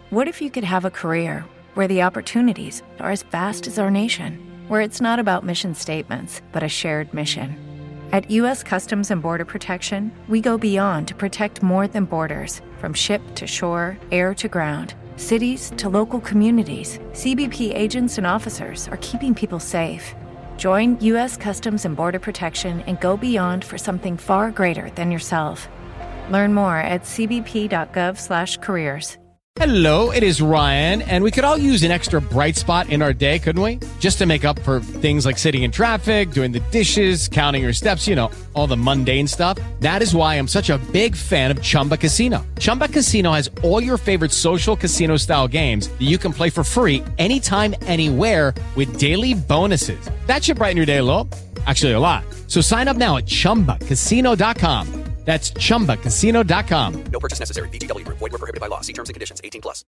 What if you could have a career where the opportunities are as vast as our nation, where it's not about mission statements, but a shared mission? At U.S. Customs and Border Protection, we go beyond to protect more than borders. From ship to shore, air to ground, cities to local communities, CBP agents and officers are keeping people safe. Join U.S. Customs and Border Protection and go beyond for something far greater than yourself. Learn more at cbp.gov/careers. Hello, it is Ryan, and we could all use an extra bright spot in our day, couldn't we? Just to make up for things like sitting in traffic, doing the dishes, counting your steps, you know, all the mundane stuff. That is why I'm such a big fan of Chumba Casino. Chumba Casino has all your favorite social casino-style games that you can play for free anytime, anywhere with daily bonuses. That should brighten your day a little. Actually, a lot. So sign up now at ChumbaCasino.com. That's ChumbaCasino.com. No purchase necessary. VGW Group. Void where prohibited by law. See terms and conditions. 18+.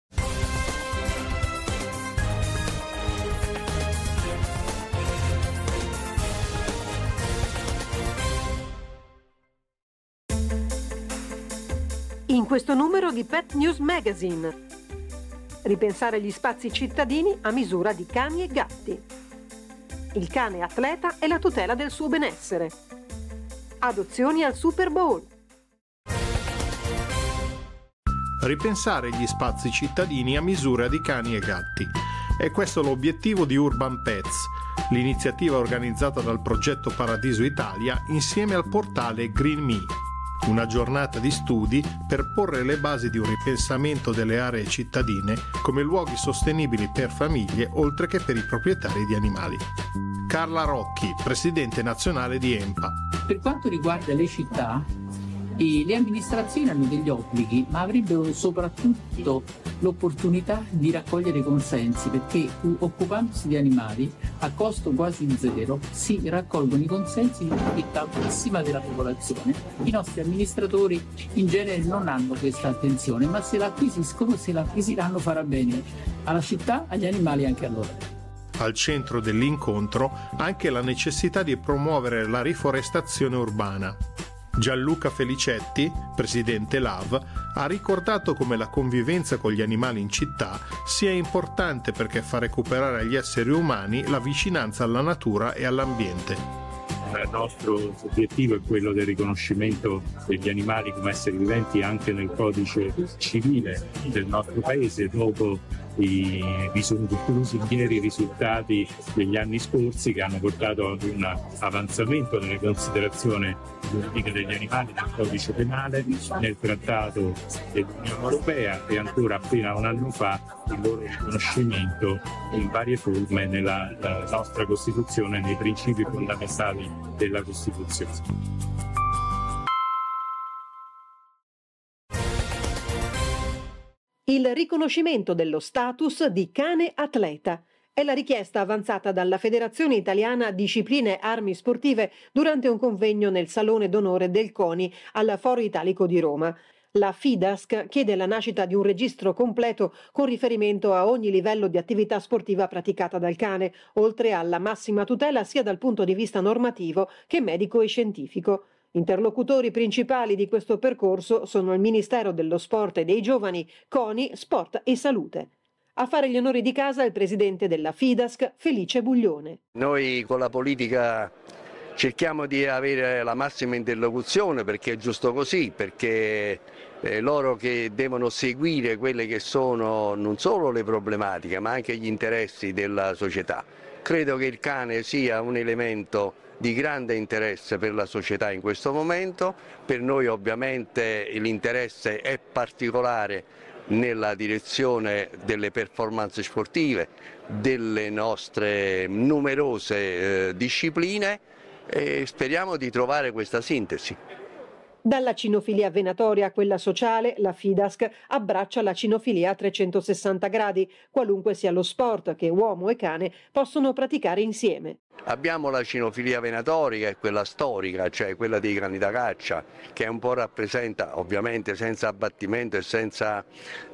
In questo numero di Pet News Magazine. Ripensare gli spazi cittadini a misura di cani e gatti. Il cane atleta e la tutela del suo benessere. Adozioni al Super Bowl. Ripensare gli spazi cittadini a misura di cani e gatti. È questo l'obiettivo di Urban Pets, l'iniziativa organizzata dal progetto Paradiso Italia insieme al portale Green Me. Una giornata di studi per porre le basi di un ripensamento delle aree cittadine come luoghi sostenibili per famiglie oltre che per i proprietari di animali. Carla Rocchi, presidente nazionale di EMPA. Per quanto riguarda le città, le amministrazioni hanno degli obblighi, ma avrebbero soprattutto l'opportunità di raccogliere consensi, perché occupandosi di animali a costo quasi zero si raccolgono i consensi di una fetta amplissima della popolazione. I nostri amministratori in genere non hanno questa attenzione, ma se la acquisiscono, se la acquisiranno farà bene alla città, agli animali e anche a loro. Al centro dell'incontro anche la necessità di promuovere la riforestazione urbana. Gianluca Felicetti, presidente LAV, ha ricordato come la convivenza con gli animali in città sia importante perché fa recuperare agli esseri umani la vicinanza alla natura e all'ambiente. Il nostro obiettivo è quello del riconoscimento degli animali come esseri viventi anche nel codice civile del nostro paese, dopo vi sono conclusi ieri i risultati degli anni scorsi che hanno portato ad un avanzamento nelle considerazioni giuridiche degli animali nel codice penale, nel trattato dell'Unione Europea e ancora appena un anno fa il loro riconoscimento in varie forme nella nostra Costituzione e nei principi fondamentali della Costituzione. Il riconoscimento dello status di cane atleta è la richiesta avanzata dalla Federazione Italiana Discipline Armi Sportive durante un convegno nel Salone d'Onore del CONI al Foro Italico di Roma. La FIDASC chiede la nascita di un registro completo con riferimento a ogni livello di attività sportiva praticata dal cane, oltre alla massima tutela sia dal punto di vista normativo che medico e scientifico. Interlocutori principali di questo percorso sono il Ministero dello Sport e dei Giovani, CONI, Sport e Salute. A fare gli onori di casa il presidente della FIDASC, Felice Buglione. Noi con la politica cerchiamo di avere la massima interlocuzione perché è giusto così, perché loro che devono seguire quelle che sono non solo le problematiche ma anche gli interessi della società. Credo che il cane sia un elemento di grande interesse per la società in questo momento, per noi ovviamente l'interesse è particolare nella direzione delle performance sportive, delle nostre numerose discipline e speriamo di trovare questa sintesi. Dalla cinofilia venatoria a quella sociale, la FIDASC abbraccia la cinofilia a 360 gradi, qualunque sia lo sport che uomo e cane possono praticare insieme. Abbiamo la cinofilia venatoria, che è quella storica, cioè quella dei cani da caccia, che un po' rappresenta, ovviamente senza abbattimento e senza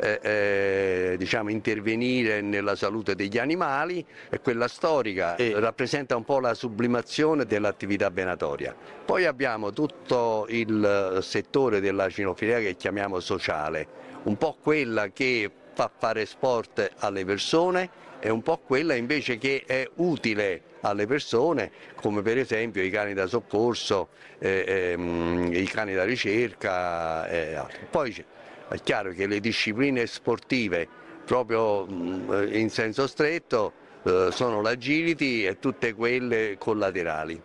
intervenire nella salute degli animali, e quella storica rappresenta un po' la sublimazione dell'attività venatoria. Poi abbiamo tutto il settore della cinofilia che chiamiamo sociale, un po' quella che fa fare sport alle persone e un po' quella invece che è utile alle persone, come per esempio i cani da soccorso, i cani da ricerca e altro. Poi è chiaro che le discipline sportive proprio in senso stretto sono l'agility e tutte quelle collaterali.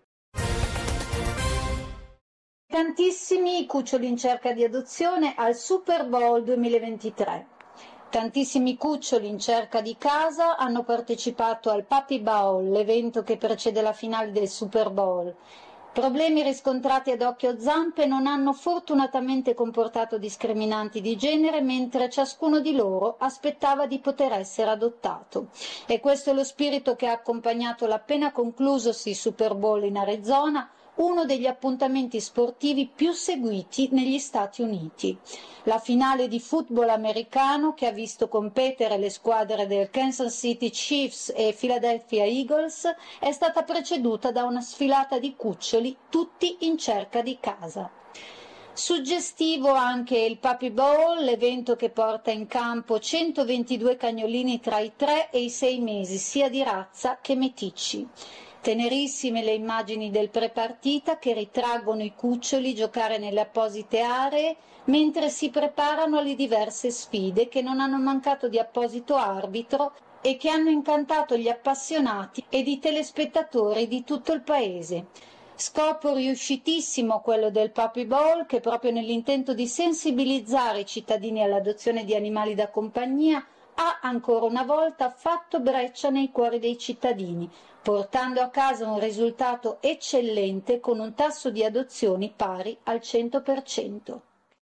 Tantissimi cuccioli in cerca di adozione al Super Bowl 2023. Tantissimi cuccioli in cerca di casa hanno partecipato al Puppy Bowl, l'evento che precede la finale del Super Bowl. Problemi riscontrati ad occhio zampe non hanno fortunatamente comportato discriminanti di genere, mentre ciascuno di loro aspettava di poter essere adottato. E questo è lo spirito che ha accompagnato l'appena conclusosi Super Bowl in Arizona, uno degli appuntamenti sportivi più seguiti negli Stati Uniti. La finale di football americano, che ha visto competere le squadre del Kansas City Chiefs e Philadelphia Eagles, è stata preceduta da una sfilata di cuccioli, tutti in cerca di casa. Suggestivo anche il Puppy Bowl, l'evento che porta in campo 122 cagnolini tra i 3 e i 6 mesi, sia di razza che meticci. Tenerissime le immagini del prepartita che ritraggono i cuccioli giocare nelle apposite aree mentre si preparano alle diverse sfide che non hanno mancato di apposito arbitro e che hanno incantato gli appassionati ed i telespettatori di tutto il paese. Scopo riuscitissimo quello del Puppy Bowl, che proprio nell'intento di sensibilizzare i cittadini all'adozione di animali da compagnia ha ancora una volta fatto breccia nei cuori dei cittadini, portando a casa un risultato eccellente con un tasso di adozioni pari al 100%.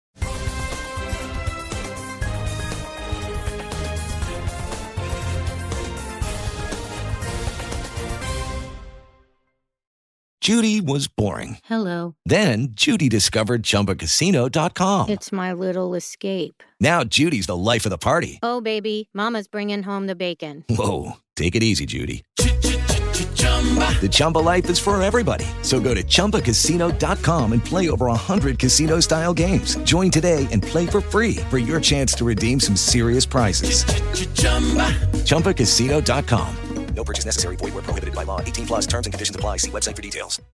Judy was boring. Hello. Then Judy discovered ChumbaCasino.com. It's my little escape. Now Judy's the life of the party. Oh, baby, mama's bringing home the bacon. Whoa, take it easy, Judy. The Chumba life is for everybody. So go to ChumbaCasino.com and play over 100 casino-style games. Join today and play for free for your chance to redeem some serious prizes. ChumbaCasino.com. No purchase necessary. Void where prohibited by law. 18+ terms and conditions apply. See website for details.